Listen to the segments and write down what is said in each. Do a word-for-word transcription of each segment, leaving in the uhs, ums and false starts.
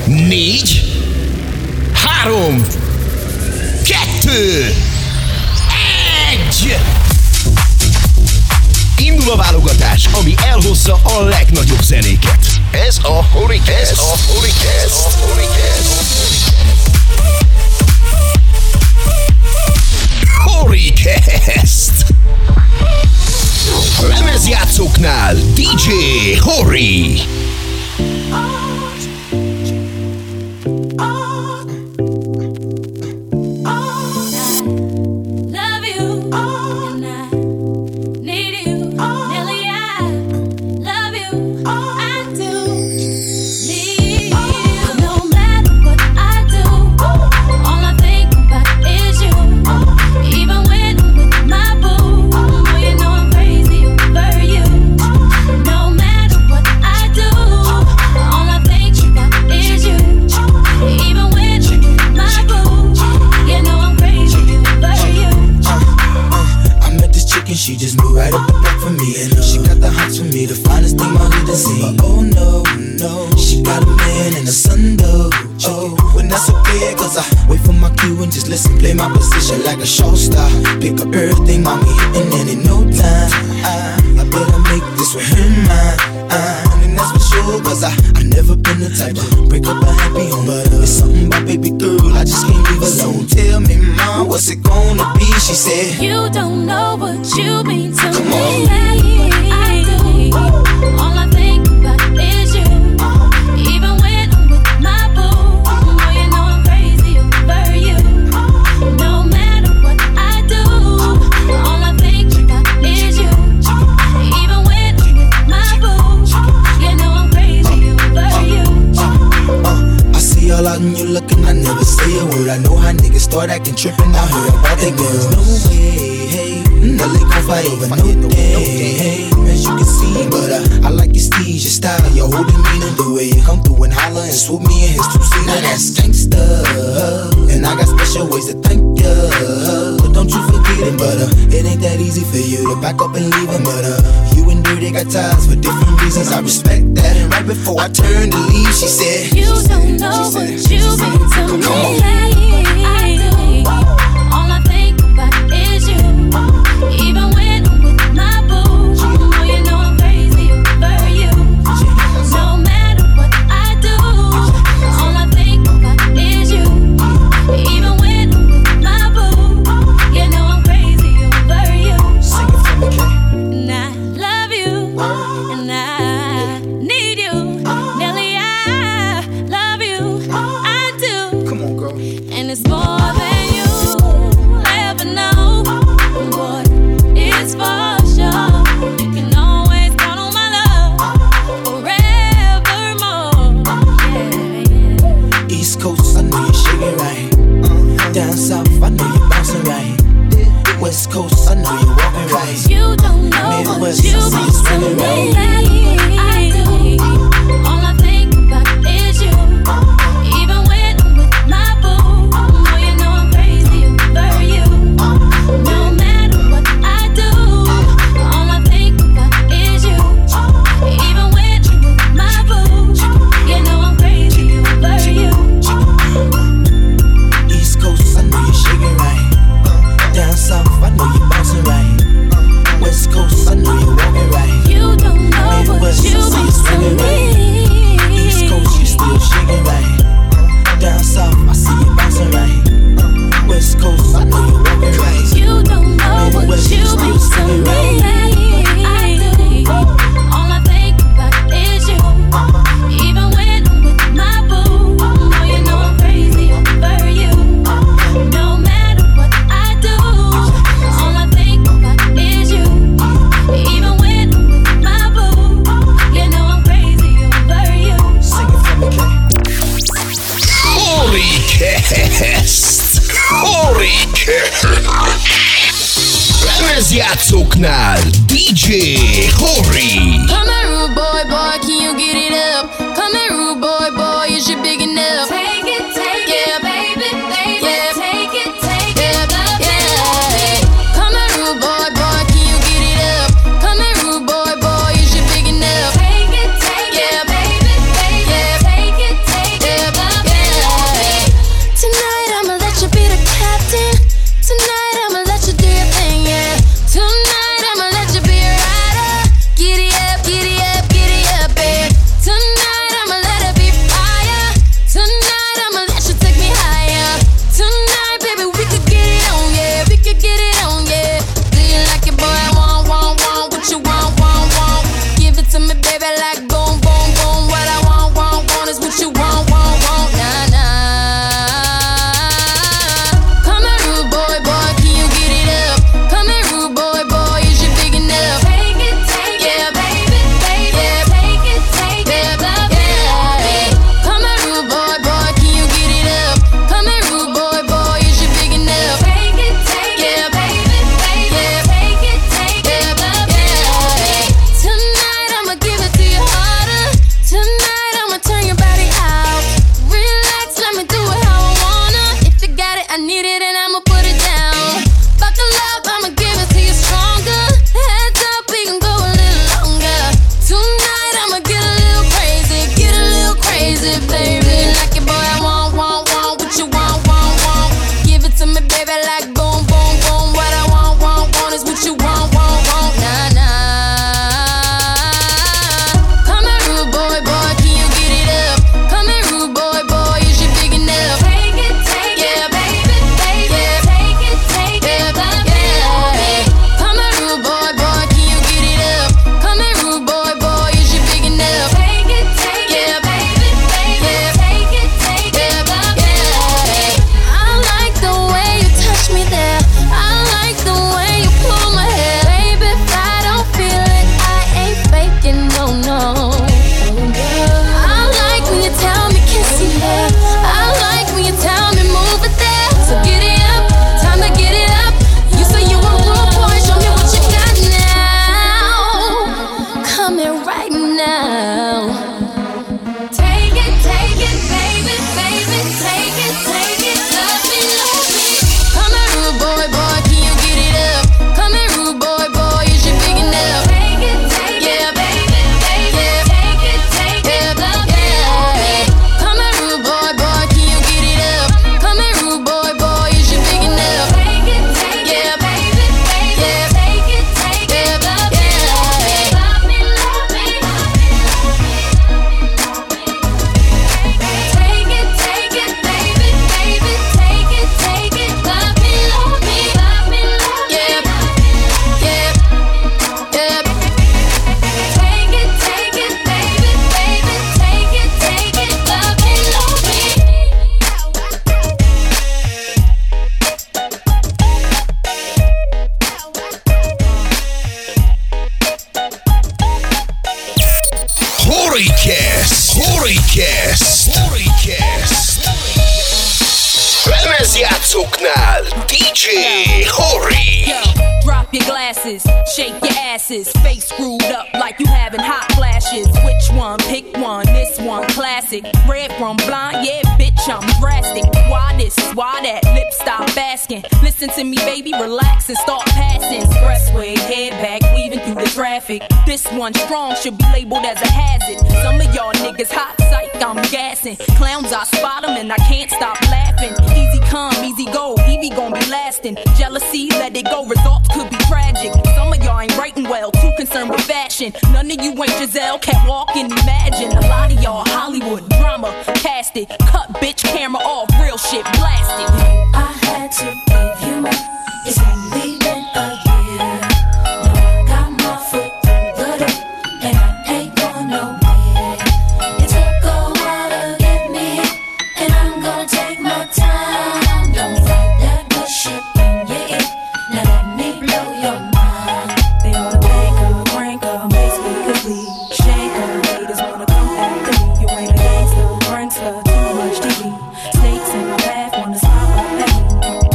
négy, három, kettő, egy. Indul a válogatás, ami elhozza a legnagyobb zenéket. Ez a Horicast. Ez a Horicast. Horicast. Lemezjátszóknál dé dzsé Hori. She just moved right up the block for me, and uh, she got the hots for me, the finest thing my hood has seen. But oh no, no, she got a man and a son though. Oh, when that's okay, cause I wait for my cue and just listen, play my position like a show star. Pick up everything, mommy hitting, and in no time, I, I better make this with him mine. Uh, and that's for sure, cause I, I never been the type to break up a happy home. But uh, it's something about baby girl, I just can't leave alone. Tell me, mom, what's it gonna be? She said, you don't know what you mean to Come me. on. I do. All I think about is you. Even when I'm with my boo, oh, you know I'm crazy over you. No matter what I do, all I think about is you. Even when I'm with my boo, you know I'm crazy over you. Uh, uh, I see y'all out and you looking, I never say a word. I know how niggas start acting trippin' out here about they girls. No way, hey, no they gon' fight over no day, hey, as you can see. But uh, I like your steez, your style, your whole demeanor, the way you come through and holler and swoop me in his two-seater. Now that's gangsta, and I got special ways to thank ya. But don't you forget it, but uh, it ain't that easy for you to back up and leave him. But uh, you and Dirty got ties for different reasons, I respect that. And right before I turned to leave, she said, you don't know what you mean to me. I do. All I think about is you. Even when I'm with my boo, oh, you know I'm crazy over you. No matter what I do, all I think about is you. Even when I'm with my boo, you know I'm crazy over you. Sing it for me, Kay. And I love you, and I need you. Nelly, I love you, I do. Come on, girl. And it's more than you ever know. Boy, it's for sure. You can always count on my love forevermore. Yeah, yeah. East Coast, I know you're shaking right. Uh, down south, I know you're bouncing right. West Coast, I know you're walking right. You don't know what Midwest, you I see mean it's to running me. right. I do. All I think about is you. Even when I'm with my boo, oh, you know I'm crazy over you. No matter what I do, all I think about is you. Even when I'm with my boo, you know I'm crazy over you. East Coast, I know you're shaking right. Down south, I know you're bouncing right. West Coast, I know you're walking right. You don't know what Midwest, you I see mean it's to running right. me. East Coast, you still shaking right. Down south, I see you bouncing right. West Coast, I know you're walking right. You don't know what Midwest, you you mean still to singing me. right. I do. All I think about is you. Even when I'm with my boo, oh, you know I'm crazy over you. No matter what I do, all I think about is you. Even when I'm with my boo, you know I'm crazy over you. Sing it for me, Kay. Horicast. Horicast. Lemezjátszóknál dé dzsé Hori. Come here, rude boy, boy, can you get it up? Come here, rude boy, boy, is you big enough? Take it, take Yeah. it, baby, baby, Yeah. take it, take Yeah, it, love yeah. it. Come here, rude boy, boy, can you get it up? Come here, rude boy, boy, is you big enough? Take it, take Yeah. it, baby, baby, Yeah. take it, take it, Yeah. baby, like boom, boom, boom. What I want, want, want is what you want, want, want. Nah, nah. Come here, rude boy, boy, can you get it up? Come here, rude boy, boy, is you big enough? Take it, take yeah, it, baby, baby. Yeah, take it, take yeah, it, love yeah. it. Come here, rude boy, boy, can you get it up? Come here, rude boy, boy, is you big enough? Take it, take yeah, it, baby, baby. Yeah, take it, take yeah, it, love yeah. Tonight I'ma give it to you harder. Tonight I'ma turn your body out. Relax, let me do it how I wanna. If you got it, I need it, and I'ma put it down. Buckle up, I'ma give it to you stronger. Heads up, we can go a little longer. Tonight I'ma get a little crazy, get a little crazy, baby. Like it, boy, I want, want, want what you want, want, want. Give it to me, baby, like boom, boom, boom. What I want, want, want is what you want, want, want. Nah, nah. Come here, rude boy, boy, can you get it up? Come here, rude boy, boy, is you big enough? Take it, take yeah, it, baby, baby. Yeah, take it, take yeah, it, love yeah. Come here, rude boy, boy, can you get it up? Come here, rude boy, boy, is you big enough? Take it, take yeah, baby, baby. Yeah, take it, take yeah, love yeah. I like the way you touch me there. I like the way you pull my hair, baby. If I don't feel it, I ain't faking, no, no. I like when you tell me kiss you there. I like when you tell me move it there. So get it up, time to get it up. You say you a rude boy, show me what you got now. Come here right now. Take it, take it, baby, baby. Take it, take it, love me, love me. Come here, rude boy, boy, can you get it up? Come here, rude boy, boy, is you big enough? Take it, take yeah, baby, baby. Yeah, take it, take yeah, love yeah. Come here, rude boy, boy, can you get it up? Come here, rude boy, boy, is you big enough? Take it, take yeah, baby, baby. Yeah, take it, take yeah, love yeah. Love me, love me. Take it, take it, baby, baby. Take it, take it, love me, love me, love me, love me. Yeah, yeah, yeah. Take it, take it, baby, baby. Take it, take it, love me, love me. Horikesz! Horikesz! Horikesz! Lemezjátszóknál dé dzsé Hori! Yo, drop your glasses, shake your asses, face screwed up like you having hot flashes. Which one? Pick one. This one classic. Red from blind, yeah, bitch, I'm drastic. Why this? Why that? Lip stop asking. Listen to me, baby, relax and start passing. Expressway, head back, weaving through the traffic. This one strong should be labeled as a hazard. Some of y'all niggas hot psych, I'm gassing. Clowns, I spot them and I can't stop laughing. Easy come, easy go, Evie gon' be lasting. Jealousy, let it go, results could be tragic. Some of y'all ain't writing well, too concerned with fashion. None of you ain't Giselle, can't walk and imagine. A lot of y'all Hollywood drama, cast it. Cut bitch camera off, real shit blasted. I had to give you up. It's only been a year. Now I got my foot through the door, and I ain't going nowhere. It took a while to get me, and I'm gonna take my time. Don't fight that bullshit in your ear. Now let me blow your mind. They ought to bank her, crank her, make speaker bleed. Shank her, haters wanna come after me. You ain't a gangster, prankster, too much T V. Snakes in my path, wanna smile up at me.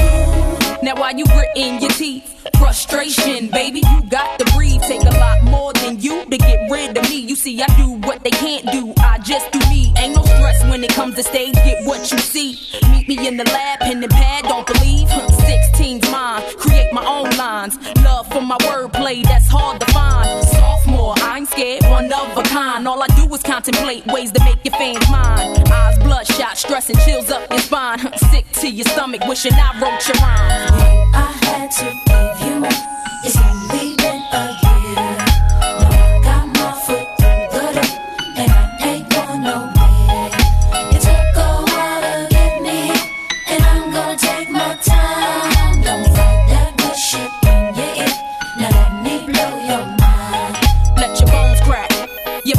Now while you gritting your teeth, frustration, baby, you got to breathe. Take a lot more than you to get rid of me. You see, I do what they can't do, I just do me. Ain't no stress when it comes to stage, get what you see. Meet me in the lab, pen and pad, don't believe. sixteen's mine, create my own lines. Love for my wordplay, that's hard to find. Sophomore, I ain't scared, one of a kind. All I do is contemplate ways to make your fans mine. Eyes bloodshot, stress and chills up your spine. Sick to your stomach, wishing I wrote your rhyme. I had to give you up. It's only been a year. Now I got my foot through the door, and I ain't going nowhere. It took a while to get me, and I'm gonna take my time. Don't fight that bullshit in your ear. Now let me blow your mind. Let your bones crack, your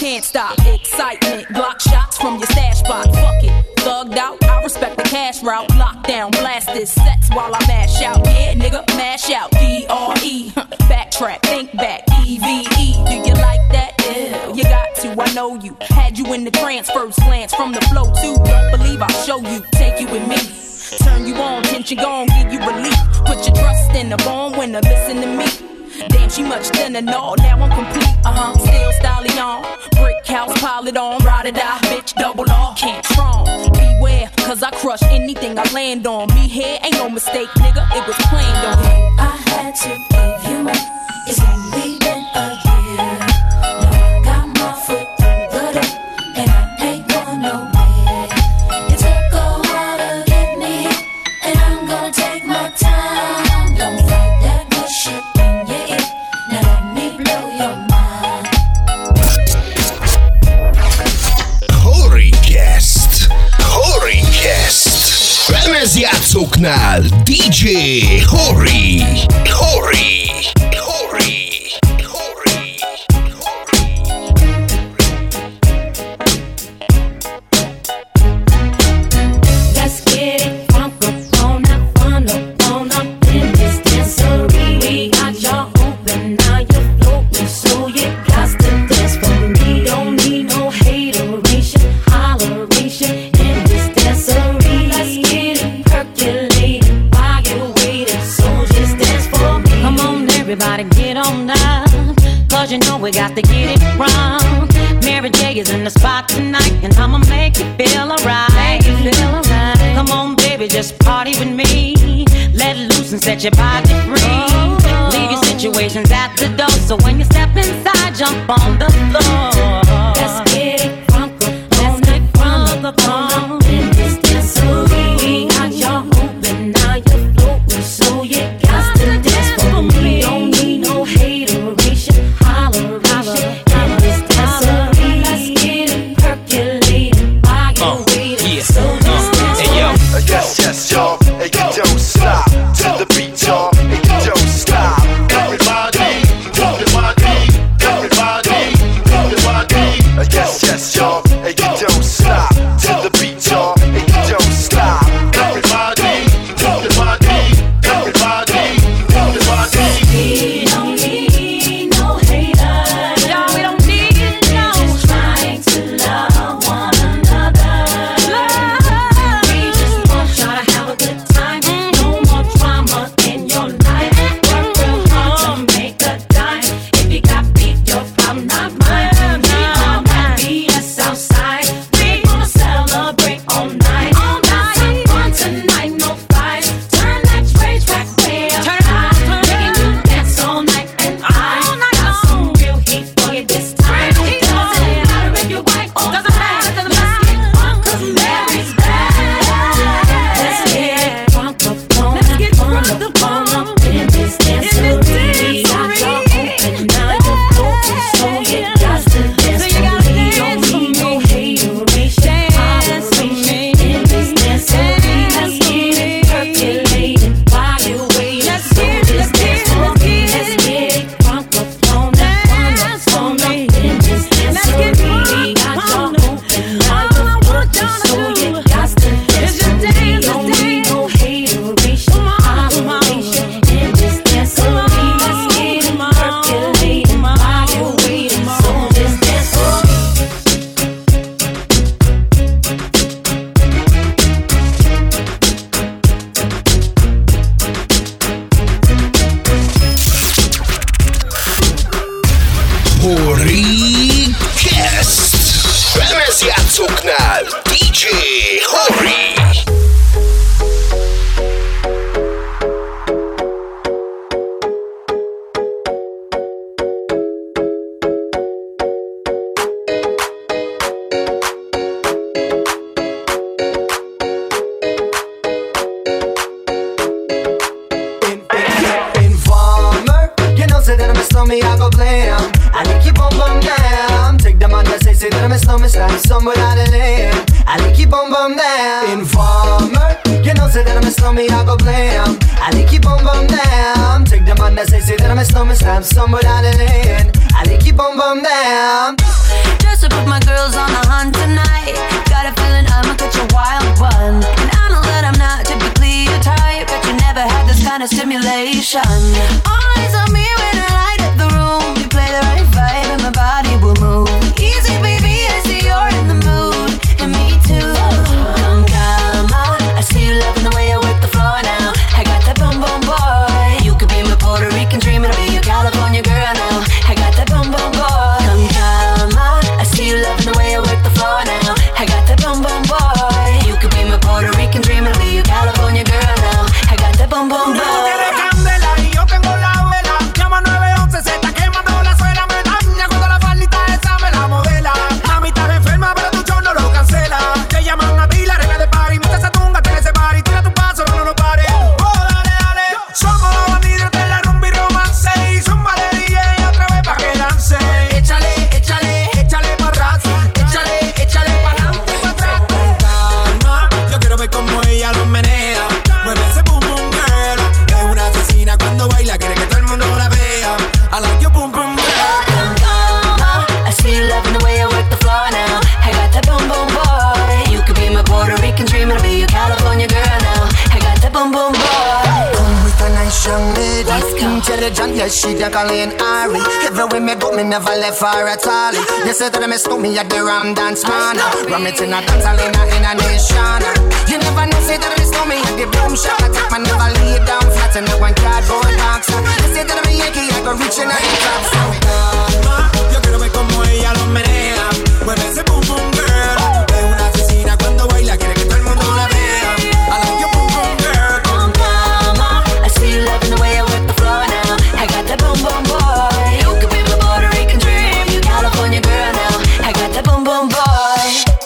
can't stop. Excitement, block shots from your stash box. Fuck it, thugged out. I respect the cash route. Lockdown, blast this sets while I mash out. Yeah, nigga, mash out. D R E, backtrack, think back. E V E, do you like that? Yeah, you got to. I know you. Had you in the trance, first glance from the flow too. Don't believe I'll show you. Take you with me. Turn you on, tension gon' give you relief. Put your trust in the born winner, listen to me. Damn, she much thinner, no, now I'm complete. Uh-huh, still styling on. Brick house, pile it on. Ride or die, bitch, double R. Can't strong. Beware, cause I crush anything I land on. Me here ain't no mistake, nigga, it was planned on. I had to give you up. It's only been a year. Now I got my foot through the door, and I ain't going nowhere. It took a while to get me, and I'm gonna take my time. Don't fight that good shit in your ear. Now let me blow your mind. Horicast, Horicast. Lemezjátszóknál dé dzsé Hori, Hori, Hori. Everybody get on down, cause you know we got to get it wrong. Mary J is in the spot tonight, and I'ma make you feel alright. Make you feel alright. Come on, baby, just party with me. Let loose and set your body free. Oh. Leave your situations at the door, so when you step inside, jump on the floor. Let's get it crunk up, let's get crunk up on in this dancery. We got y'all open, now you're floating, so you got to dance for me. Don't need no hateration, holleration in this dancery. Let's get it percolating while you're uh, waiting, yeah. So just dance for me. Uh, yes, yes, y'all, hey, you don't stop to the beat, y'all, hey, you don't stop. Everybody, everybody, everybody, everybody. Uh, yes, yes, y'all, hey, you don't stop to the beat, y'all, hey, you don't stop. Everybody, everybody, everybody, everybody. We don't need no haters. No, we don't need no. Just trying to love one another. Love. We just want y'all to have a good time. No more drama in your life. Work real hard to make a dime. If you got beef, your problem, not mine. We on that B S outside. We gonna celebrate all night. All night. Have fun tonight, no fights. Turn that rage back way up high. Making you dance all night, and I got some real heat for you this time. Doesn't matter if you're white or black. Let's get crunk 'cause Mary's back. Let's get crunk up on up, crunk up on up in this dancery. We got y'all open, now you're floating, so you got to dance for me. Don't need no hateration, holleration in this dancery. Let's get it percolating while you're waiting, so just dance for me. Let's get it crunk up on up, crunk up on up in this dancery. We got y'all open, now you're floating, so you got to dance for me. Don't need no hateration, holleration in this dancery. Let's get it percolating while you're waiting, so just dance for me. Horicast. Lemezjátszóknál dé dzsé Hori. Informer, you know, say that I'm a slummy, I go blam. I like you bum bum down. Take the man that say, say that I'm a slummy, slap some without a name. I like you bum bum down. Informer, you know, say that I'm a slummy, I go blam. I like you bum bum down. Take the man that say, say that I'm a slummy, slap some without a name. I like you bum bum down. Just intelligent, yes, she the Colleen Ari. Everywhere me go, me never left her at all. They say that me stole me at the Ram Dance Man. Ram it in a dance hall in a, in a nation. You never know, say that me stole me at the Boom Shop. I take my never lay down flat in a one cardboard box. They say that I'm a Yankee, I go reaching out the top. So yo quiero ver como ella lo menea. Mueve ese boom boom girl. Es una asesina cuando baila, quiere que todo el mundo la vea. I like your boom boom girl. Boom mama, I see you loving the way I whip the floor now. I got that boom boom boy. You could be my Puerto Rican dream. You California girl now. I got that boom boom boy.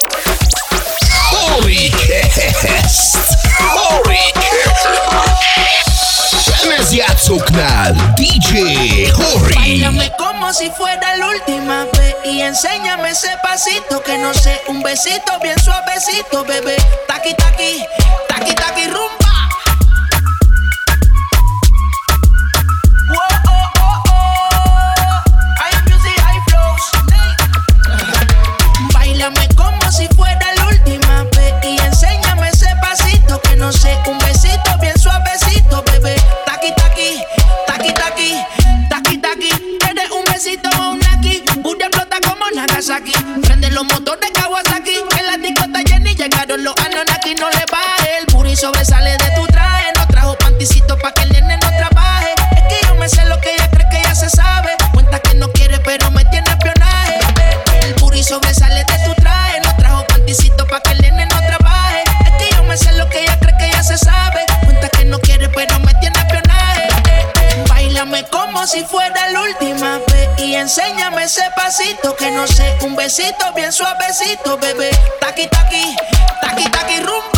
Horicast! Horicast! Lemezjátszóknál dé dzsé Hori. Báilame como si fuera la última vez y enséñame ese pasito que no sé, un besito bien suavecito, bebé. Taqui taqui, taqui taqui rumba. Whoa, oh, oh, oh. High music, high flows. Báilame como si fuera la última vez y enséñame ese pasito que no sé, un besito bien suavecito, bebé. Taqui taqui, taqui taqui, taqui taqui. Eres un besito o un aquí, Buda explota como Nagasaki. Prende los motores Kawasaki, en la discota Jenny llegaron los Anunnaki. No le baje, el booty sobresale de tu traje. No trajo panticito pa' que el nene no trabaje. Es que yo me sé lo que ella cree que ya se sabe. Cuenta que no quiere pero me tiene espionaje. El booty sobresale de tu traje. No trajo panticito pa' que el nene no trabaje. Es que yo me sé lo que ella cree que ya se sabe. Cuenta que no quiere pero me tiene espionaje. Báilame como si fuera la última vez y enséñame ese pasito que no sé, un besito bien suavecito, bebé. Taqui taqui, taqui taqui rumba.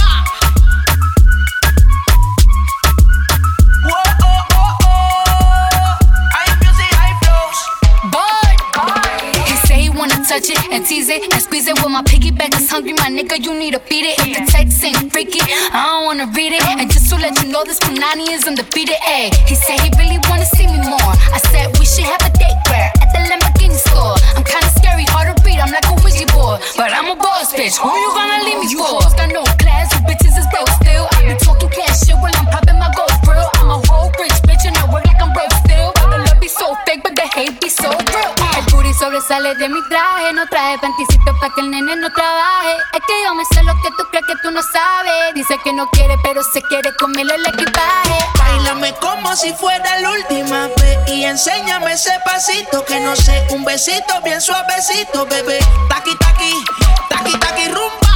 Whoa, oh, oh, oh. High music, high flows. Boy, he say he wanna touch it and tease it and squeeze it. With my piggyback is hungry, my nigga, you need to beat it. If the text ain't freaky, I don't wanna read it. And just to let you know, this Punani is undefeated. Ayy, he said he really wanna see me more. I said we should have a date where at the Lamborghini store. I'm kinda scary, hard to read, I'm like a Ouija board, but I'm a boss bitch. Who you gonna leave me for? You got no class, you bitches is broke still. I be talking cash shit while I'm popping my gold grill. I'm a whole rich bitch and I work like I'm broke still. But the love be so fake, but the hate be so real. El booty sobresale de mi traje, no traje panticito pa' que el nene no trabaje. Es que yo me sé lo que tú crees que tú no sabes. Dice que no quiere, pero se quiere comerle el equipaje. Báilame como si fuera la última vez y enséñame ese pasito que no sé, un besito bien suavecito, bebé. Taqui taqui, taqui taqui rumba.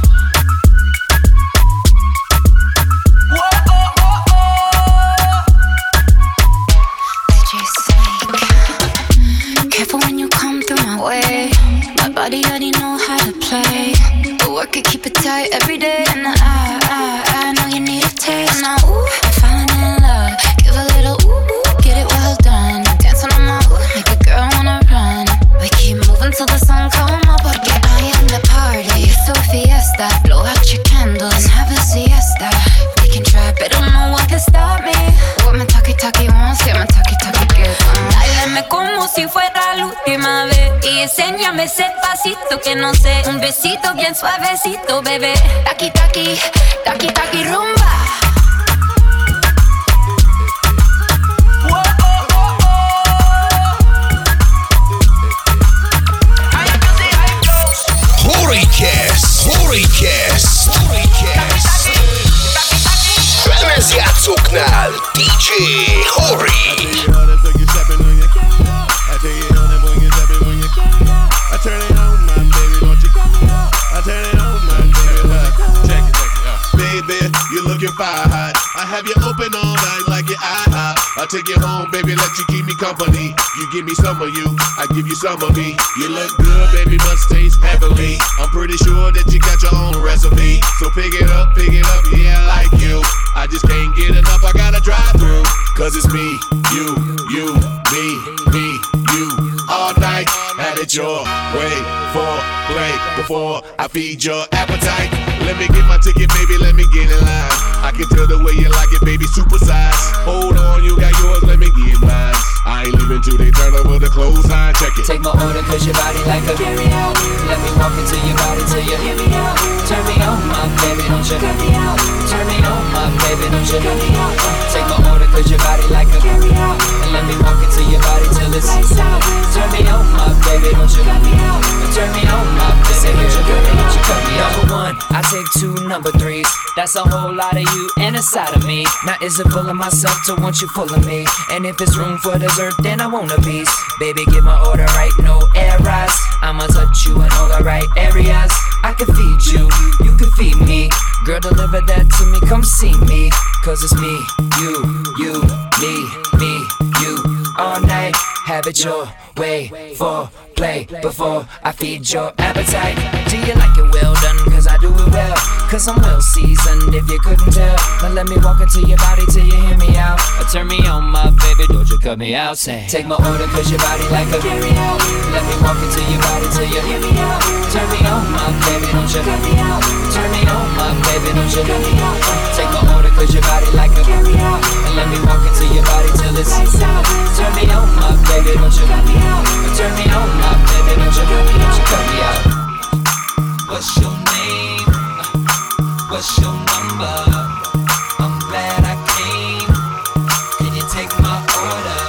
Whoa, oh, oh, oh. D J Snake, careful when you come through my way. My body already know how to play. But work it, keep it tight every day. And I, I, I know you need a taste. Now, ooh, I'm falling in love. Give a little ooh, ooh, get it well done. Dancing on my ooh, make a girl wanna run. We keep moving till the sun come up. Porque I am the party. It's a fiesta. Blow out your candles and have a siesta. They can try, but don't know what can stop me. What my talkie talkie wants, yeah, my talkie talkie gets on. Báilame como si fuera la última vez y enséñame ese pasito que no sé, un besito bien suavecito, bebé. Taqui taqui, taqui taqui rumba. Whoa, oh, oh, oh. High music, high flows. Horicast! Horicast! Horicast! Lemezjátszóknál dé dzsé Hori. Baby, you're looking fire hot. I have you open all night like your IHOP. I'll take you home, baby, let you keep me company. You give me some of you, I give you some of me. You look good, baby, must taste heavenly. I'm pretty sure that you got your own recipe. So pick it up, pick it up, yeah, I like you. I just can't get enough, I gotta drive through. Cause it's me, you, you, me, me, you. All night, had it your way for play before I feed your appetite. Let me get my ticket, baby, let me get in line. I can tell the way you like it, baby, supersize. Hold on, you got yours, let me get mine. I ain't leaving till they turn over the clothesline, check it. Take my order, cause your body like a carry out. Let me walk into your body till you hear me out. Turn me on, my baby, don't you cut me out. Turn me on, my baby, don't you cut me out. Take my order, cause your body like a carry out. And let me walk into your body till it's out. Turn me on, my baby, don't you cut me out. Turn me on, my baby, don't you cut me out. Don't you cut me out. Number one, I take two number threes. That's a whole lot of you and a side of me. Now is it full of myself to want you full of me? And if it's room for dessert, then I want a piece. Baby, get my order right, no errors. I'ma touch you in all the right areas. I can feed you, you can feed me. Girl, deliver that to me, come see me. Cause it's me, you, you, me, me, you. All night, have it your way. For play before I feed your appetite. Do you like it well done? Cause I do it well. Cause I'm well seasoned if you couldn't tell. Now let me walk into your body till you hear me out. Or turn me on, my baby, don't you cut me out. Say, take my order cause your body like a carry out. Let me walk into your body till you hear me out. Turn me on, my baby, don't you cut me out. Turn me on, my baby, don't you cut me out. Take my order cause your body like a carry out. And let me walk into your body till it's out. Turn me on, my baby, don't you cut me out. Turn me on, my baby, don't you cut me, don't you cut me out. What's your name? What's your number? I'm glad I came. Can you take my order?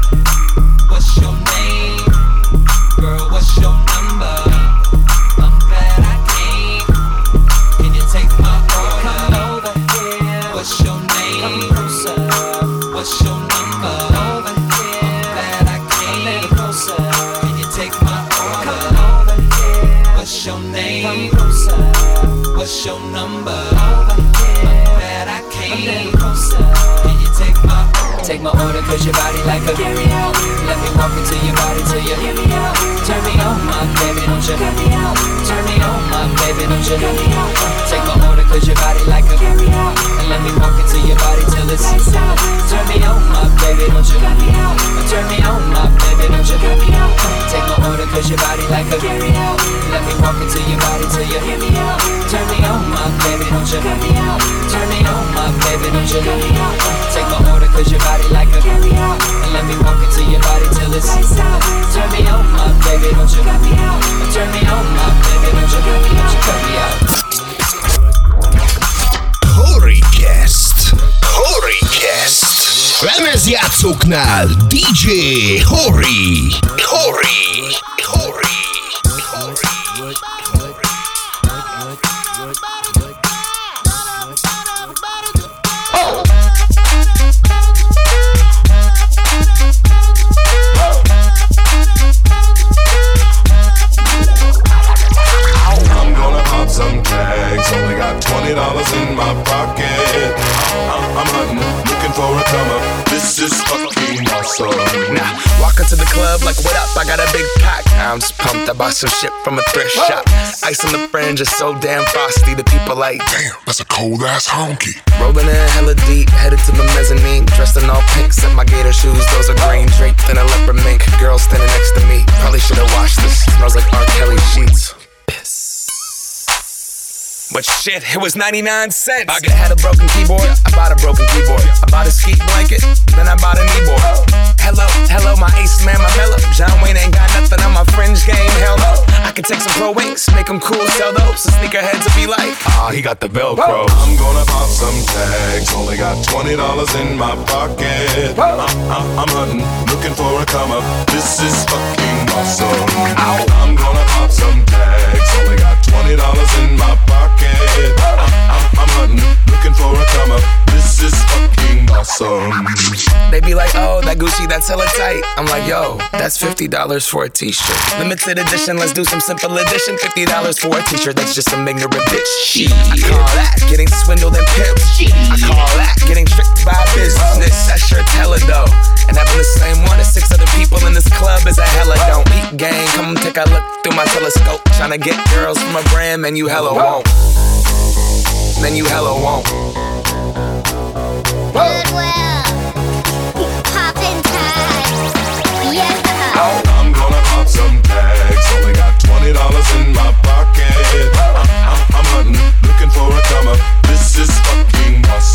What's your name? Girl, what's your number? I'm glad I came. Can you take my order? Come over here. What's your name? Come closer. What's your number? Over here. I'm glad I came. A little closer. Can you take my order? Come over here. What's your name? Come closer. What's your number? Over here. I'm glad I came. A little closer. Can you take my order? Take my order cause your body like a carry out. Let me walk into your body till you hear me out. Turn me on, my baby, don't you cut me out. Turn me on, my baby, don't you cut me out. Take my order cause your body like a carry out. And let me walk into your body till it's out. Turn me on, my baby, don't you cut me out. Turn me on, my baby, don't you cut me out. Take my order cause your body like a carry out. Let me walk into your body till you hear me out. Turn me on, my baby, don't you cut me out. Turn me on, my baby, don't you cut me out. Take my order cause your body like a carry out. And let me walk into your body till it's out. Turn me on, my baby, don't you cut me out. Turn me on, my baby, don't you cut me, don't you cut me out. Horicast, Horicast. Lemezjátszóknál dé dzsé Hori, Hori, Hori. Some tags, only got twenty dollars in my pocket. I'm, I'm hunting, looking for a come up. This is fucking awesome. Now, walk into the club like, what up? I got a big pack. I'm just pumped. I bought some shit from a thrift shop. Ice on the fringe is so damn frosty. The people like, damn, that's a cold ass honky. Rolling in hella deep, headed to the mezzanine. Dressed in all pink, set my gator shoes. Those are green, draped in a leopard mink. Girl standing next to me. Probably should've washed this. Smells like R. Kelly sheets. But shit, it was ninety-nine cents. I had a broken keyboard, I bought a broken keyboard. I bought a ski blanket, then I bought a kneeboard. Hello, hello, my ace man, my mellow. John Wayne ain't got nothing on my fringe game, hell no. I can take some pro wings, make them cool, sell those. The sneakerheads will be like, ah, oh, he got the Velcro. I'm gonna pop some tags, only got twenty dollars in my pocket. I'm, I'm, I'm hunting, looking for a come up. This is fucking awesome. Ow. I'm gonna pop some tags, only got twenty dollars in my pocket. I'm, I'm, I'm hunting, looking for a come up. This is fucking awesome. They be like, oh, that Gucci, that's hella tight. I'm like, yo, that's fifty dollars for a t-shirt. Limited edition, let's do some simple edition. fifty dollars for a t-shirt, that's just some ignorant bitch. Shit. I call that getting swindled and pimped. I call that getting tricked by business. That shirt's hella dope. And having the same one as six other people in this club is a hella don't. Eat gang, come take a look through my telescope. Tryna get girls from a brand, man, you hella won't. Man, you hella won't. Goodwill, poppin' tags, yes. I'm gonna pop some tags, only got twenty dollars in my pocket. I'm, I'm, I'm hunting, looking for a come up. This is fucking awesome.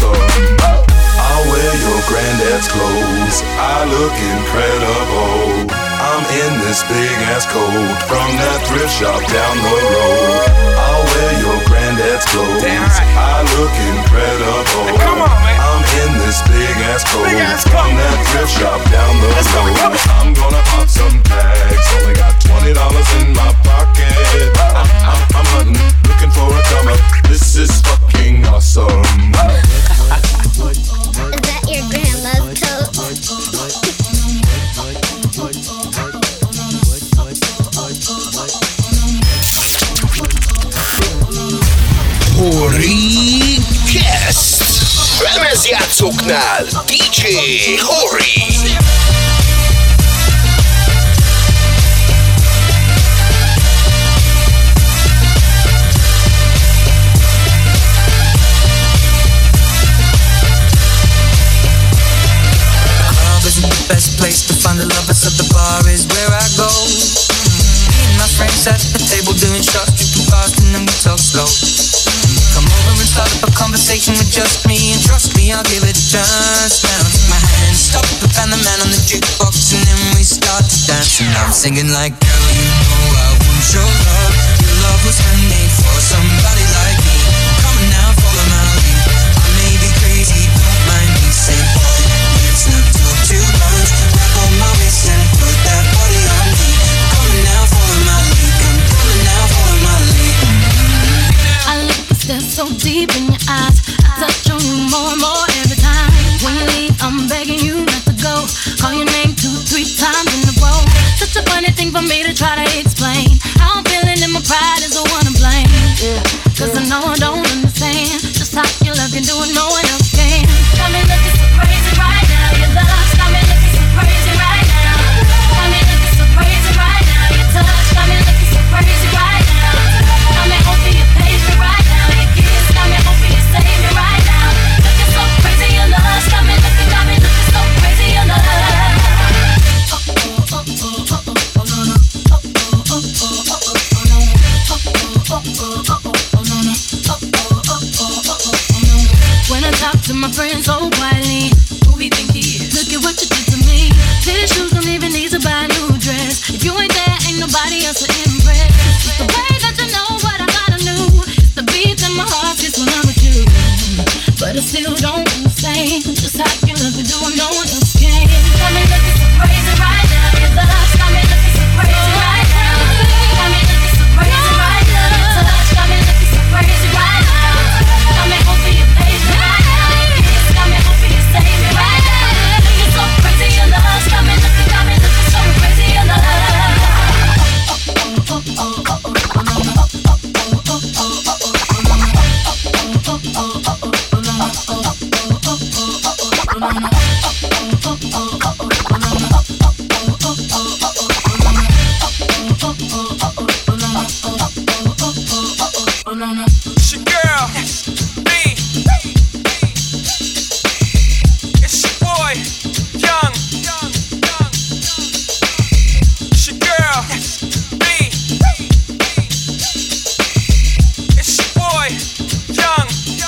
shop down the road. I'll wear your granddad's clothes. Damn right. I look incredible. Come on, man. I'm in this big ass coat. Big ass From coat. that thrift shop down the Let's go, road. come on. I'm gonna pop some tags. Only got twenty dollars in my pocket. I'm, I'm, I'm hunting, looking for a come up. This is fucking awesome. Is that your grandma's coat? Horicast! Lemezjátszóknál dé dzsé Hori! Best place to find the lovers of the bar is where I go. Me and my friends at the table doing shots, drinking fast and then we talk slow. Come over and start up a conversation with just me, and trust me, I'll give it a chance. Now take my hand, stop and find the man on the jukebox, and then we start to dance. And I'm singing like, girl, you know I want your love. Your love was handmade for somebody like me. Come on now, follow my lead. I may be crazy, don't mind me. Say, boy, let's not talk too much. Grab on my waist and put that body on me. Come on now, follow my lead. Come, come on now, follow my lead. I look and stare so deep in your eyes. I touch on you more and more every time. When you leave, I'm begging you not to go. Call your name two, three times in a row. Such a funny thing for me to try to explain. How I'm feeling and my pride is the one to blame. Yeah. Cause I know I don't understand just how your love can do it, no one else can. Got me looking so crazy right now. Your love's got me looking so crazy right now. Got me looking so crazy right now. Your touch got me looking so crazy right now. Got me hoping you page me right now. Your kiss got me hoping you save me right now. Looking so crazy, your love's got me looking, got me looking so crazy, your love. When I talk to my friends so quietly, who we think he is? Look at what you did to me. Fitted shoes don't even need to buy a new dress. If you ain't there, ain't nobody else to impress. It's the way that you know what I gotta know. It's the beat in my heart just when I'm with you. But I still don't understand just how you love me, doing no one else can. Got me looking so crazy right now. Your love's got me looking so crazy right now. Got me looking so crazy right now. Your touch got me looking so crazy right now. Got me hoping you page me right now. Your kiss got me hoping you save me right now. Looking so crazy, your love's got me looking, got me looking so crazy, your love. It's your girl, B. It's your boy, Young. It's your girl, B. It's your boy, Young.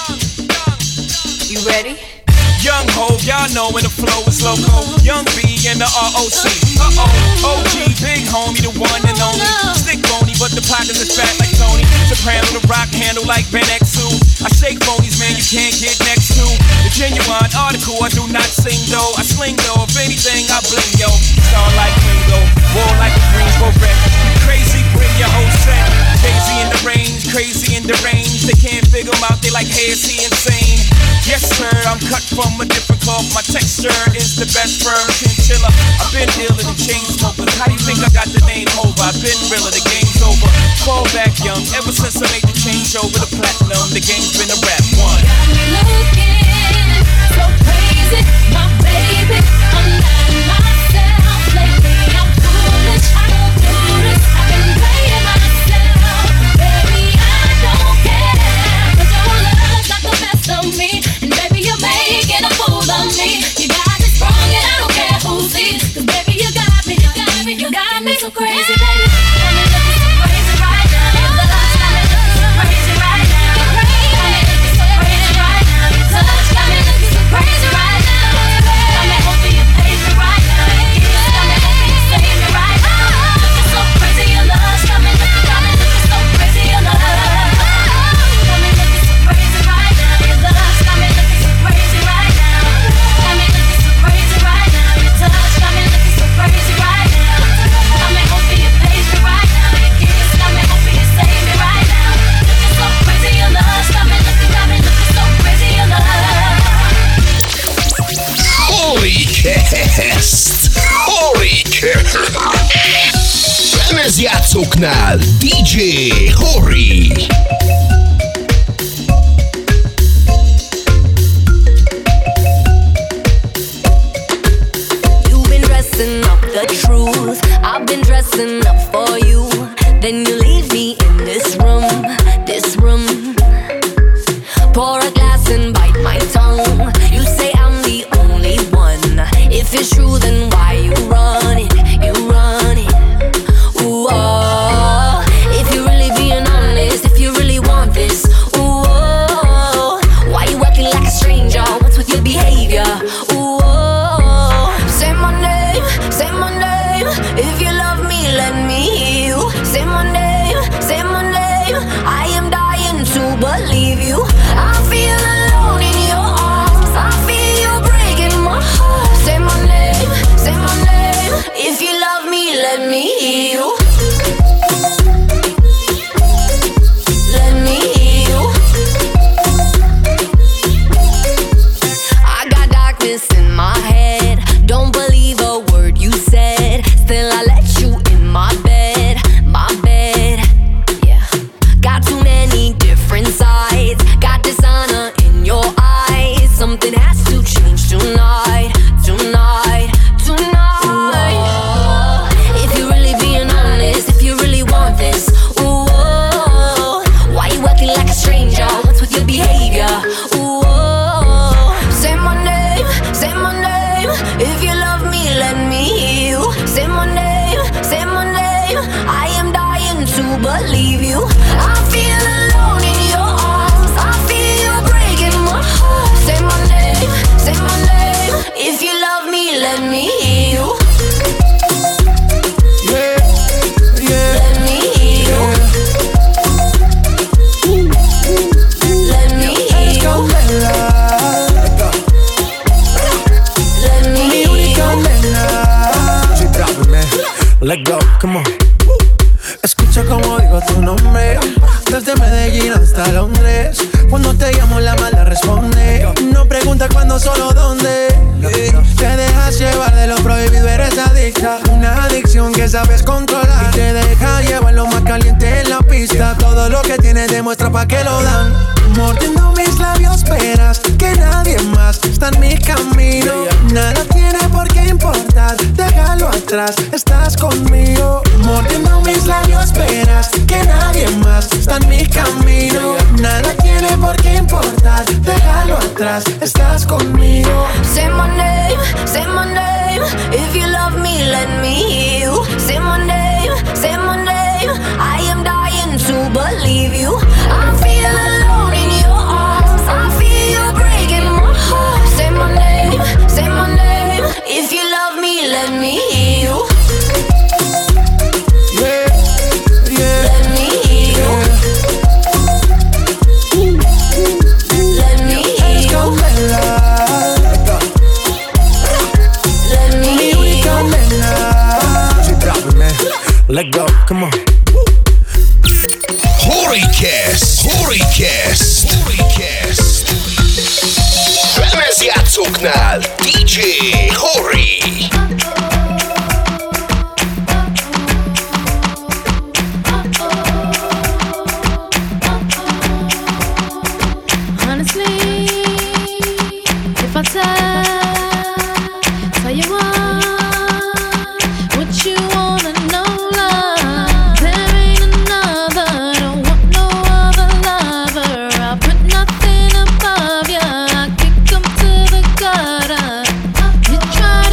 You ready? Young Ho, y'all know when the flow is loco. Young B and the R O C. Uh-oh, O G, big homie, the one and only. Stick bony, but the pockets is fat like Tony. Soprano, the rock handle like Ben X two. I shake phonies, man, you can't get next to. The genuine article, I do not sing though. I sling though, if anything, I bling yo. Star like Ringo, war like a Greensboro wreck. Crazy, bring your whole set. Crazy in the range, crazy in the range. They can't figure him out, they like, hey, is he insane? Yes, sir, I'm cut from a different cloth. My texture is the best firm chinchilla. I've been dealing in chain smokers. How do you think I got the name over? I've been realer, the game's over. Fall back young, ever since I made the change over the platinum, the game's been a rap one. Got me looking so crazy, my baby. I'm not myself lately. I'm foolish, I don't do this. I've been playing myself, baby. I don't care, 'cause your love's got the best of me, and baby you're making a fool of me. You got me sprung, and I don't care who sees, 'cause baby you got me, you got me, you got me so crazy, baby. Got me looking so crazy right now. Your love's got me looking so crazy right now. Got me looking so crazy right now. Your touch got me looking so crazy right now. Got me hoping you page me right now. Your kiss got me hoping you save me right now. játszóknál dé dzsé Hori. You've been dressing up the truth, I've been dressing up for you. Then you leave me in this room, this room. Pour a glass and bite my tongue. You say I'm the only one. If it's true, then why you run it? You run it. Ooh, oh. If you're really being honest, if you really want this, ooh, oh. Why you acting like a stranger? What's with your behavior? Ooh, oh. Say my name, say my name. If you love me, let me hear you. Say my name, say my name. I am dying to believe you. I feel alone in your arms. I feel you breaking my heart. Say my name, say my name. If you love me, let me hear you. Let me hear you. I got darkness in my head. Don't believe a word you said. Still I let you in my bed, my bed. Yeah. Got too many different sides. Got dishonor in your eyes. Something has to change tonight, tonight, tonight. Ooh, if you're really being honest, if you really want this, ooh, oh, why you acting like a stranger? What's with your behavior? Ooh, oh, say my name, say my name. If you love me, let me hear you. Say my name, say my name. I am dying to believe you. I feel alone in your arms. I feel you breaking my heart. Say my name, say my name. If you love me, let me hear you. Yeah, yeah. Let me hear you. Let me hear you. Let me Mi hear única you. nena. She dropping, man. Let go, come on. Escucha como digo tu nombre. Desde Medellín hasta Londres. Cuando te llamo la mala responde. No pregunta cuándo, solo dónde. Te dejas llevar de lo prohibido, eres adicta. Una adicción que sabes controlar. Y te deja llevar lo más caliente en la pista. Todo lo que tienes demuestra pa' que lo dan. Mordiendo mis labios, verás que nadie más está en mi camino. Nada tiene por qué importar, déjalo atrás, estás conmigo. Mordiendo mis labios, verás que nadie más está en mi camino. Nada tiene por qué importar, déjalo atrás, estás conmigo. Say my name, say my name. If you love me, let me hear you. Say my name, say my name. I am dying to believe you. I feel alone in your arms. I feel you breaking my heart. Say my name, say my name. If you love me, let me hear you. Yeah, yeah. Let me hear you. Let me hear you. Let me Mi hear única you. nena. She dropping, man. Let go, come on. Horicast, Horicast, Horicast. Lemezjátszóknál dé dzsé Hori. Honestly, if I tell, tell you what, what you wanna know, love, there ain't another, don't want no other lover. I put nothing above ya, I kick 'em to the gutter. You try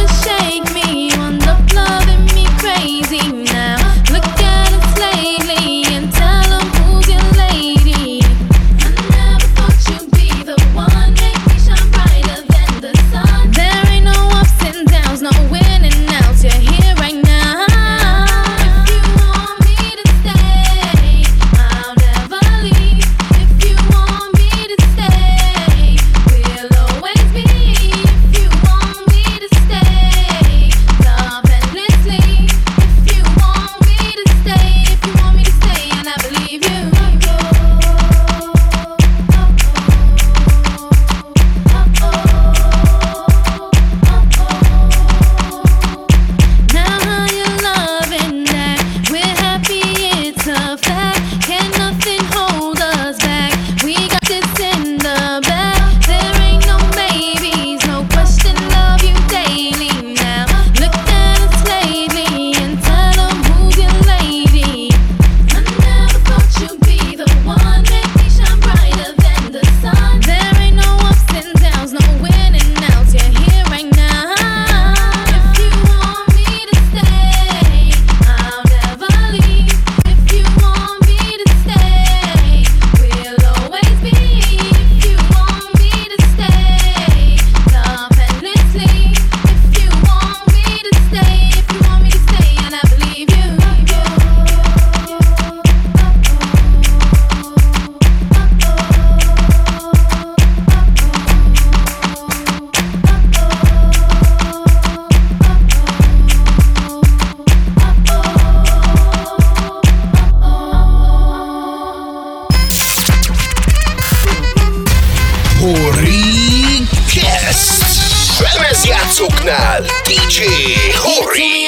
Hori Guest. Lemezjátszóknál dé dzsé Hori.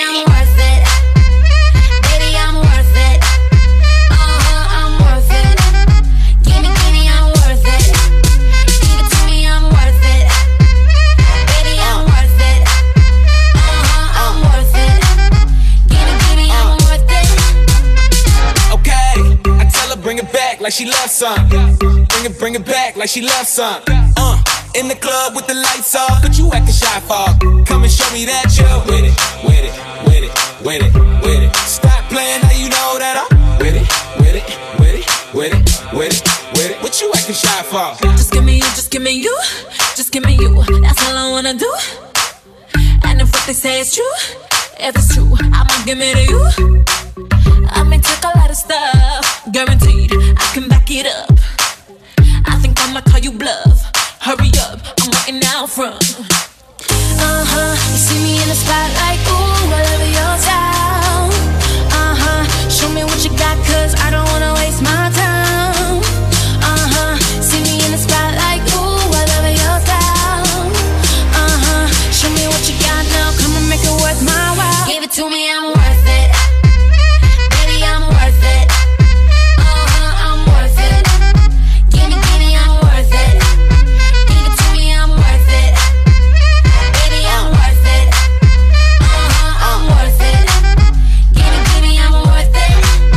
Like she loves some. Bring it, bring it back like she loves some. Uh, in the club with the lights off, but you acting shy for. Come and show me that you're with it, with it, with it, with it, with it. Stop playing, now you know that I'm with it, with it, with it, with it, with it, with it. What you acting shy for? Just give me you, just give me you, just give me you. That's all I wanna do. And if what they say is true, if it's true, I'ma give it to you. I may take a lot of stuff, guaranteed I can back it up. I think I'ma call you bluff. Hurry up, I'm waiting out front. Uh-huh, you see me in the spotlight, ooh, I love your style. Uh-huh, show me what you got, cause I don't wanna waste my time. Uh-huh, see me in the spotlight, ooh, I love your style. Uh-huh, show me what you got now, come and make it worth my while. Give it to me, I'm worth it. I'm worth it. Uh-huh, I'm worth it. Give me, give me, I'm worth it. Give it to me, I'm worth it. Baby, I'm worth it. Uh-huh, I'm worth it. Give me, give me, I'm worth it.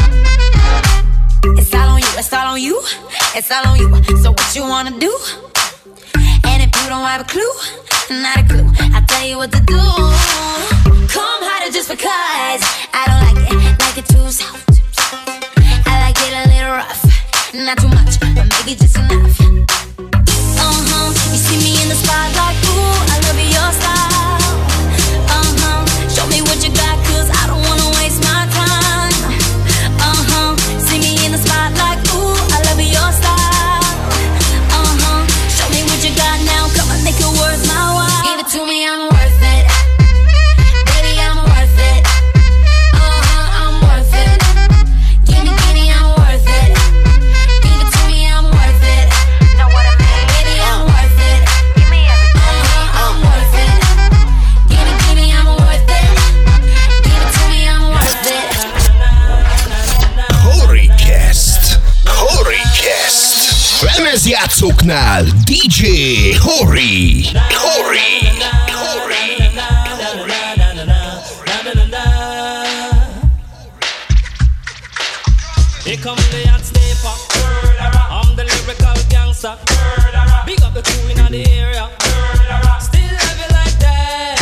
It's all on you, it's all on you, it's all on you. So what you wanna do? And if you don't have a clue, not a clue, I'll tell you what to do. Come harder just because I don't like it, like it too soft. I like it a little rough, not too much, but maybe just enough. Uh-huh, you see me in the spotlight, ooh, I love your style. Uh-huh, show me what you got, cause I don't wanna waste my time. Uh-huh, see me in the spotlight, ooh, I love your style. Uh-huh, show me what you got now, come on, make it worth my while. Give it to me, I'm worth it. Lemezjátszóknál dé dzsé Hori. Hori. Hori. Here come the hot stepper. I'm the lyrical gangster. Big up the crew in the area. Still love it like that.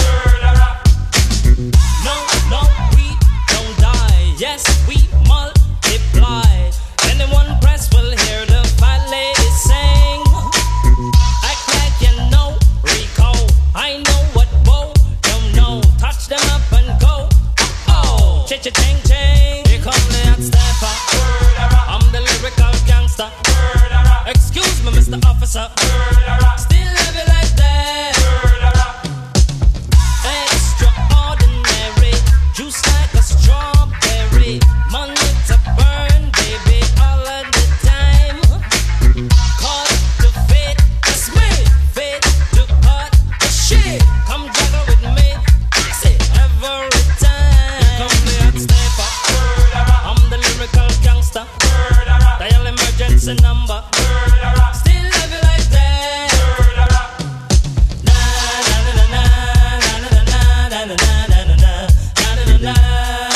No, no, we don't die. Yes, we multiply. Anyone press will hear the fat lady sing. Act like you know, Rico. I know what Bo don't know. Touch them up and go. Oh, cha-cha-ching, ching. Here come the hot stepper. I'm the lyrical gangster. Excuse me, Mister Officer. Still love it like that. Extraordinary. Juice like a strawberry. Money to burn, baby, all of the time. Caught the fate, that's me. Fate to cut the shit. Come juggle with me. I say every time. Come the hot stepper. I'm the lyrical gangster. Dial emergency number. Still love it like that. Na na na na na na na na na na na na na na.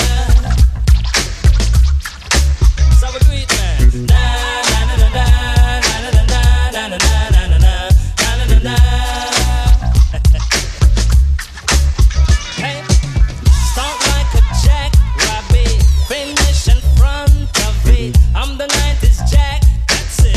So we do it, man. Na na na na na na na na na na na na na na na. Hey, start like a jackrabbit, finish in front of it. I'm the nineties Jack, that's it.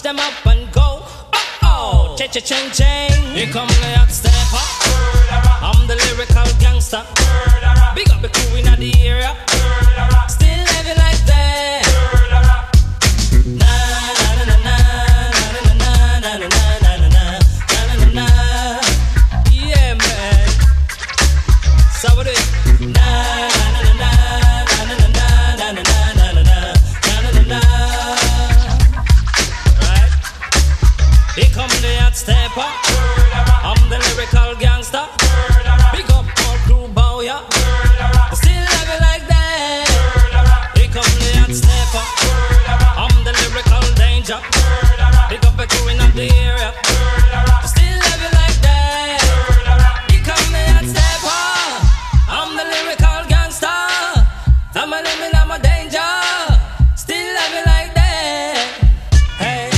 them up and go. Oh oh, cha cha ching ching. Here come the hot stepper. I'm the lyrical gangster. Big up the crew in the area. Still heavy like that. Na na na na na na na na na na na na na. Yeah man. So what it? Na na na na na na na na na na na na na. Right. Here come the hot stepper. I'm the lyrical gangster. Big up all crew bow ya. Still have it like that. Here come the hot stepper. I'm the lyrical danger. Big up the crew in the area. Still have it like that. Here come the hot stepper. I'm the lyrical gangster. I'm a living, I'm a danger. Still have it like that. Hey.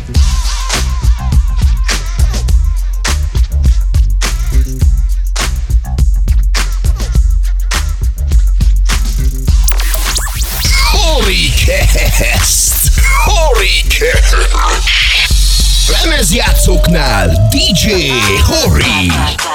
Horicast! Horicast! Lemezjátszóknál dé dzsé Hori!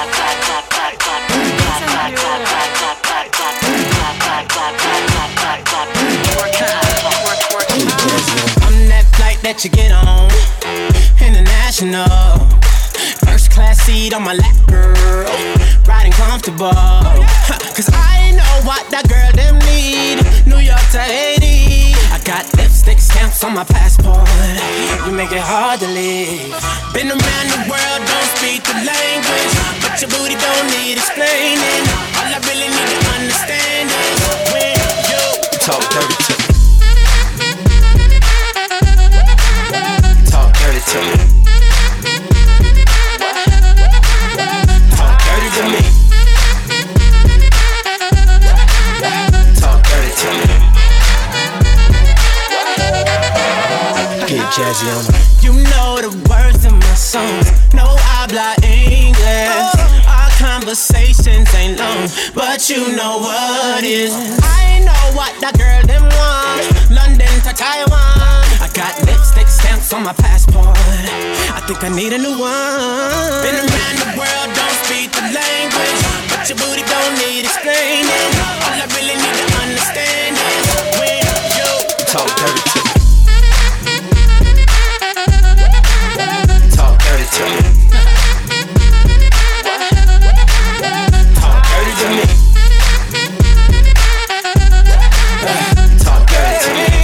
I'm that flight that you get on, international. First class seat on my lap, girl, riding comfortable. Cause I know what that girl them need. New York to Haiti. I got lipstick stamps on my passport. You make it hard to leave. Been around the world, don't speak the language, but your booty don't need explaining. All I really need to understand is when you talk dirty to me. Talk dirty to me. Talk dirty to me. Talk dirty to me. Get jazzy on me. You know the words of my songs. No habla English. Our conversations ain't long, but you know what is. I know what that girl them want. London to Taiwan. I got lipstick stamps on my passport. I think I need a new one. Been around the world, don't speak the language, but your booty don't need explaining. All I really need to understand is when you talk dirty to me. Talk dirty to me. Talk dirty to me. Talk dirty to me.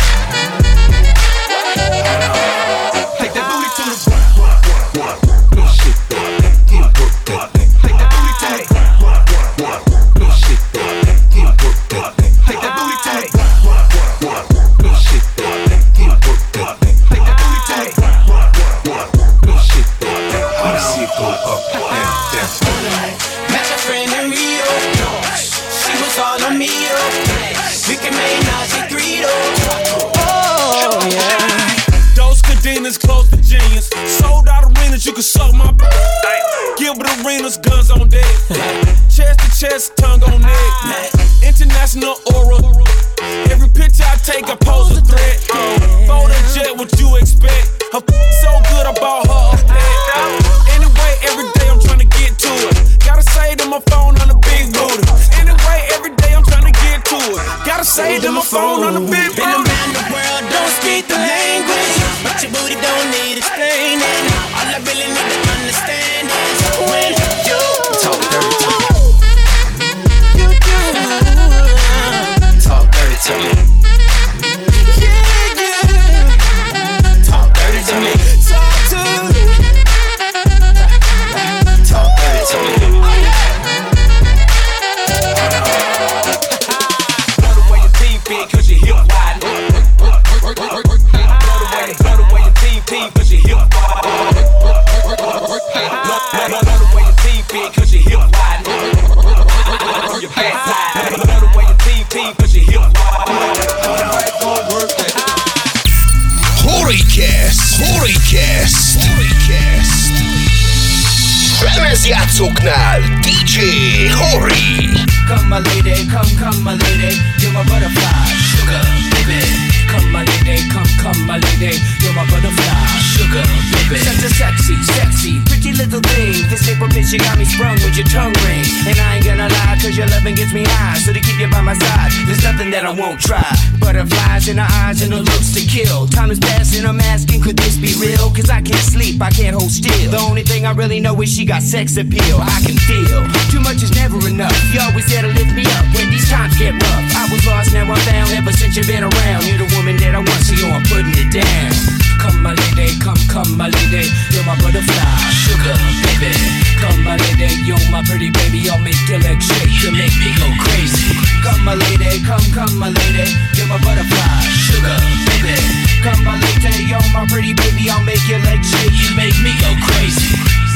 Take that booty to the ground. No shit, you work that thing. Take that booty to the ground. No shit, you work that thing. Take that booty to the ground. No shit, you work that thing. Take that booty to the ground. No shit, I wanna see it go up and down. Met a friend in Rio. She was all on me. We can make Nazi Greedo. Oh yeah. Those cadenas close to genius. Sold out arenas, you can suck my b- Gilbert Arenas, guns on deck. Chest to chest, tongue on neck. International aura. Every picture I take, I pose a threat. Photo jet, what you expect? Her f- so good, I bought her a pet. Anyway, every day I'm trying to get to it. Gotta say to my phone on the big booty. Anyway, every day I'm trying to get to it. Gotta say to my phone on the big booty. Been around the world, don't speak the language, but your booty don't need explaining. All I really need to understand is when you talk dirty to me. You do. Talk dirty to me. Yeah, yeah. Talk dirty to me. Talk to me. Talk dirty to me. Oh yeah. Blow the way your team fit, cause your hip wide. Blow the way, blow the way your team team, cause your hip wide. Blow the way your team fit, cause your hip wide. Your backside. Blow the way your team team, cause your hip wide. Horicast! Horicast! Horicast! Lemezjátszóknál dé dzsé Hori! Come my lady, come, come my lady, you're my butterfly, sugar, baby. Come my lady, come, come my lady, you're my butterfly. sugar, baby. Such a sexy, sexy, pretty little thing. This paper bitch, you got me sprung with your tongue ring. And I ain't gonna lie, cause your loving gets me high. So to keep you by my side, there's nothing that I won't try. Butterflies in her eyes and her looks to kill. Time is passing, I'm asking, could this be real? Cause I can't sleep, I can't hold still. The only thing I really know is she got sex appeal. I can feel, too much is never enough. You always there to lift me up when these times get rough. I was lost, now I'm found, ever since you've been around. You're the woman that I want, so yo, I'm putting it down. Come my lady, come, come my lady, you're my butterfly, sugar, baby. Come my lady, you're my pretty baby, I'll make your legs shake, you make me go crazy. Come my lady, come, come my lady, you're my butterfly, sugar, baby. Come my lady, you're my pretty baby, I'll make your legs shake, you make me go crazy.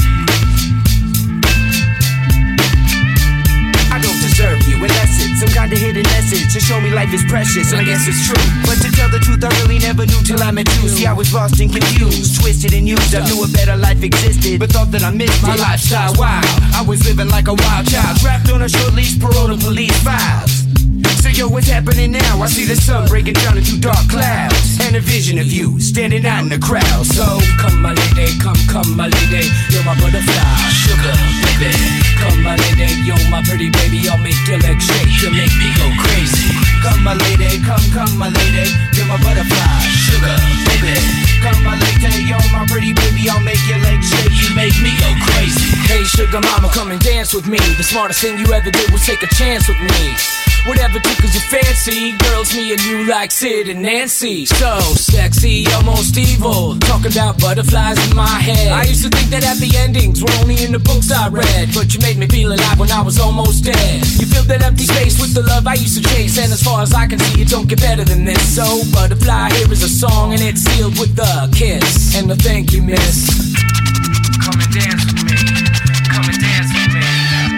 I don't deserve you unless it's some kind of hidden message to show me life is precious, and I guess it's true. But to tell the truth, I really never knew till I met you. See, I was lost and confused, twisted and used. I knew a better life existed, but thought that I missed my lifestyle. Wow, I was living like a wild child, trapped on a short leash, parole to police files. So yo, what's happening now? I see the sun breaking down into dark clouds, and a vision of you standing out in the crowd. So come my lady, come, come my lady, you're my butterfly, sugar, baby. Come my lady, you're my pretty baby, I'll make your legs shake, you make me go crazy. Come my lady, come, come my lady, you're my butterfly, sugar, baby. Come my lady, you're my pretty baby, I'll make your legs shake, you make me go crazy. Hey sugar mama, come and dance with me. The smartest thing you ever did was take a chance with me. Whatever tickles your fancy, girls, me and you like Sid and Nancy. So sexy, almost evil, talking about butterflies in my head. I used to think that happy endings were only in the books I read, but you made me feel alive when I was almost dead. You filled that empty space with the love I used to chase, and as far as I can see, it don't get better than this. So butterfly, here is a song, and it's sealed with a kiss and a thank you, miss. Come and dance with me, come and dance with me,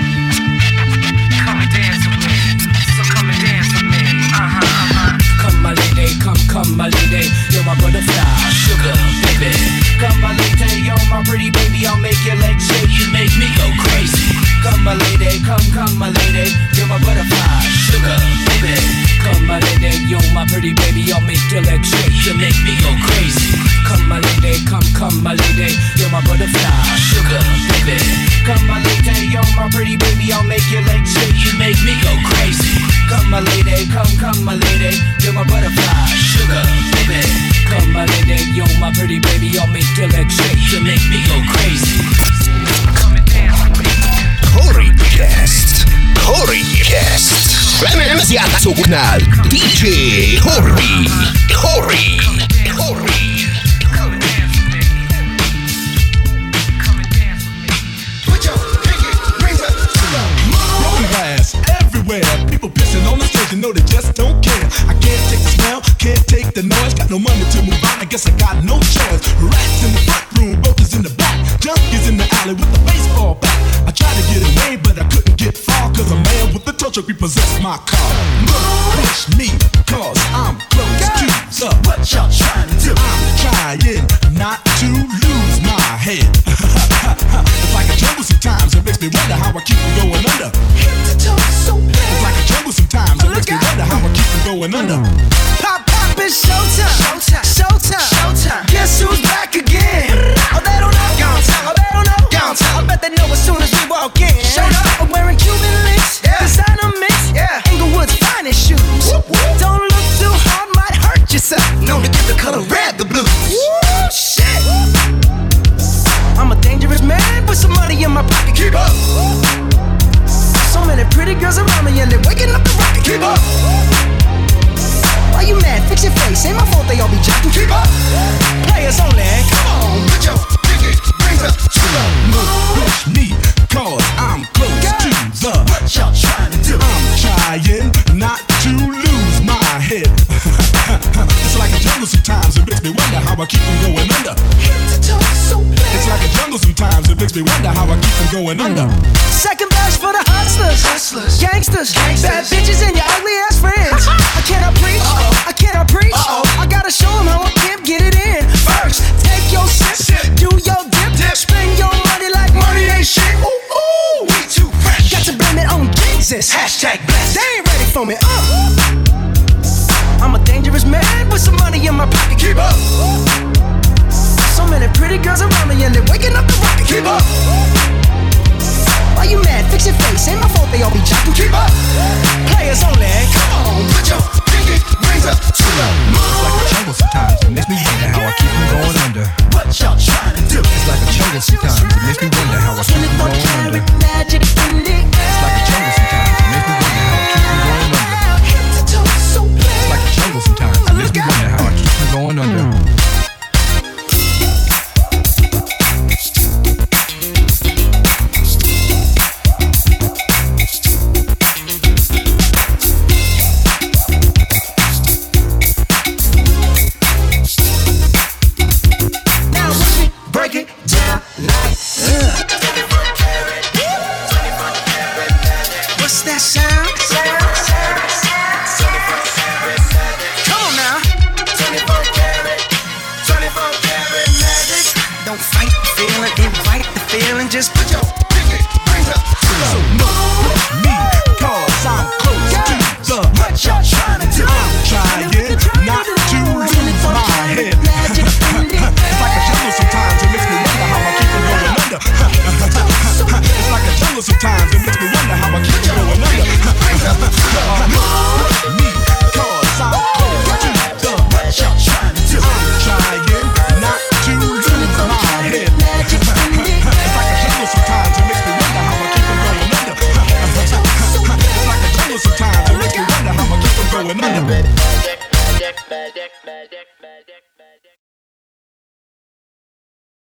come and dance with me. Uh-huh, uh-huh. Come my lady, come, come my lady, you're my butterfly, sugar, baby. Come my lady, you're my pretty baby, I'll make your legs shake, you make me go crazy. Come my lady, come, come my lady, you're my butterfly, sugar, baby. Come my lady, you're my pretty baby, I'll make your legs shake, you make me go crazy. Come my lady, come, come my lady, you're my butterfly, sugar, baby. Come my lady, you're my pretty baby, I'll make your legs shake, you make me go crazy. Come my lady, come, come my lady, you're my butterfly, sugar, baby. Come my lady, you're my pretty baby, I'll make your legs shake, you make me go crazy. Come and dance with me. Corey Guest, Corey Guest. Lemez játszóknál dé dzsé Corey, Corey, Corey. People pissing on the stage, you know they just don't care. I can't take the smell, can't take the noise. Got no money to move on, I guess I got no choice. Rats in the front room, brokers in the back, junkies in the alley with the baseball bat. I tried to get away, but I couldn't get far, cause a man with a tow truck repossessed my car. Look, push me, cause I'm close to the. What y'all trying to do? I'm trying not to lose my head. It's like a jungle sometimes, it makes me wonder how I keep from going under. Hit the toe so bad. It's like a jungle sometimes, it makes me wonder how I keep from going under. Pop, pop, it's showtime. Showtime. Showtime. Showtime. Guess who's back again? Oh, they don't know. Gone time. Oh, they don't know. Gone time. I bet they know as soon as we walk in. Showed up. I'm wearing Cuban links. Yeah. Designer mix. Yeah. Inglewood's finest shoes. Whoop, whoop. Don't look too hard, might hurt yourself. Known to give the color red the blues. Woo, shit. I'm a dangerous man with some money in my pocket. Keep up. So many pretty girls around me and they're waking up the rocket. Keep up. Why you mad? Fix your face. Ain't my fault they all be jacking. Keep up. Players only. Come on, put your pinky rings up to the moon. Push me, cause I'm close to the. What y'all trying to do? I'm trying not to lose my head. It's like a jungle sometimes, it makes me wonder how I keep from going under. Hit the toe so bad. It's like a jungle sometimes, it makes me wonder how I keep from going under. Second best for the hustlers, hustlers, gangsters, gangsters, bad bitches and your ugly ass friends. I cannot preach, uh-oh. I cannot preach. Uh-oh. I gotta show them how I can get it in. First, take your sip, sip. Do your dip, dip, spend your money like money ain't shit. Ooh, ooh, we too fresh. Got to blame it on Jesus. Hashtag blessed. They ain't ready for me. Uh. I'm a dangerous man with some money in my pocket. Keep up. So many pretty girls around me and they're waking up the rocket. Keep up. Why you mad? Fix your face. Ain't my fault they all be jocking. Keep up. Players only. Come on, put your pinky rings up to the moon. It's like a jungle sometimes. It makes me wonder how I keep from going under. What y'all trying to do? It's like a jungle sometimes. It makes me wonder how I keep from going under. Magic in the air. It's like a jungle sometimes. It makes me wonder how I keep from going under. Head to toe, so bad. It's like a jungle sometimes. It makes me wonder how I keep from going under. What's that sound? Come on now. twenty-four karat, twenty-four karat magic. Don't fight the feeling, invite the feeling. Just put your pinky rings up to the moon. Me, cause I'm close to the. What y'all trying to do? I'm trying not to lose my head. It's like a jungle sometimes. It makes me wonder how I keep from going under. It's like a jungle sometimes. It makes me wonder how I keep from going under. Me, cause I'm close to the. What y'all trying to do? I'm trying not to lose my head. It's like a jungle sometimes. It makes me wonder how I keep from going under. It's like a jungle sometimes. It makes me wonder how I keep from going under. Magic, magic, magic, magic, magic.